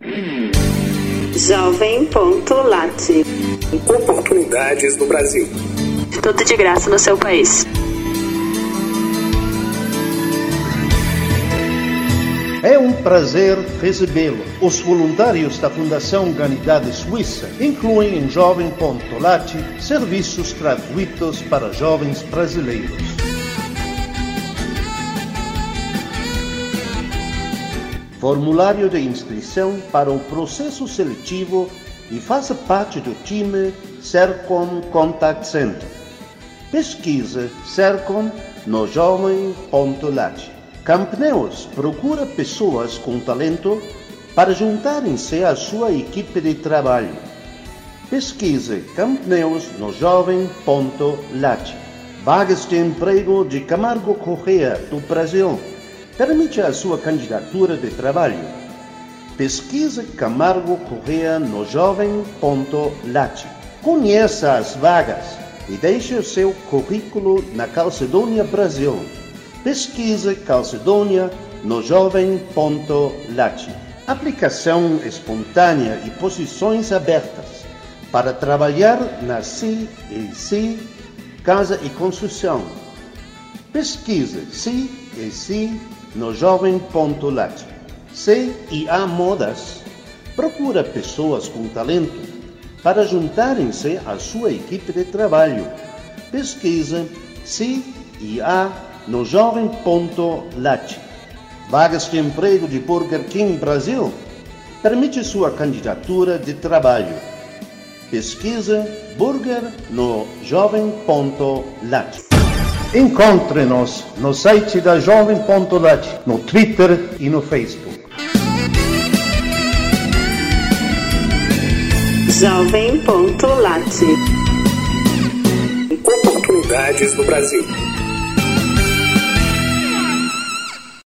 Jovem.lat. Oportunidades no Brasil. Tudo de graça no seu país. É um prazer recebê-lo. Os voluntários da Fundação Humanidade Suíça incluem em Jovem.lat serviços gratuitos para jovens brasileiros. Formulário de inscrição para o processo seletivo e faça parte do time Sercom Contact Center. Pesquise Sercom no Jovem.lat. Campneus procura pessoas com talento para juntarem-se à sua equipe de trabalho. Pesquise Campneus no Jovem.lat. Vagas de emprego de Camargo Corrêa, do Brasil. Permite a sua candidatura de trabalho. Pesquise Camargo Corrêa no Jovem.lat. Conheça as vagas e deixe o seu currículo na Calcedônia Brasil. Pesquise Calcedônia no Jovem.lat. Aplicação espontânea e posições abertas para trabalhar na CEC, Casa e Construção. Pesquise CEC no Jovem.lat. CIA Modas procura pessoas com talento para juntarem-se à sua equipe de trabalho. Pesquise CIA no Jovem.lat. Vagas de emprego de Burger King Brasil. Permite sua candidatura de trabalho. Pesquise Burger no Jovem.lat. Encontre-nos no site da Jovem.lat, no Twitter e no Facebook. Jovem.lat. Oportunidades no Brasil.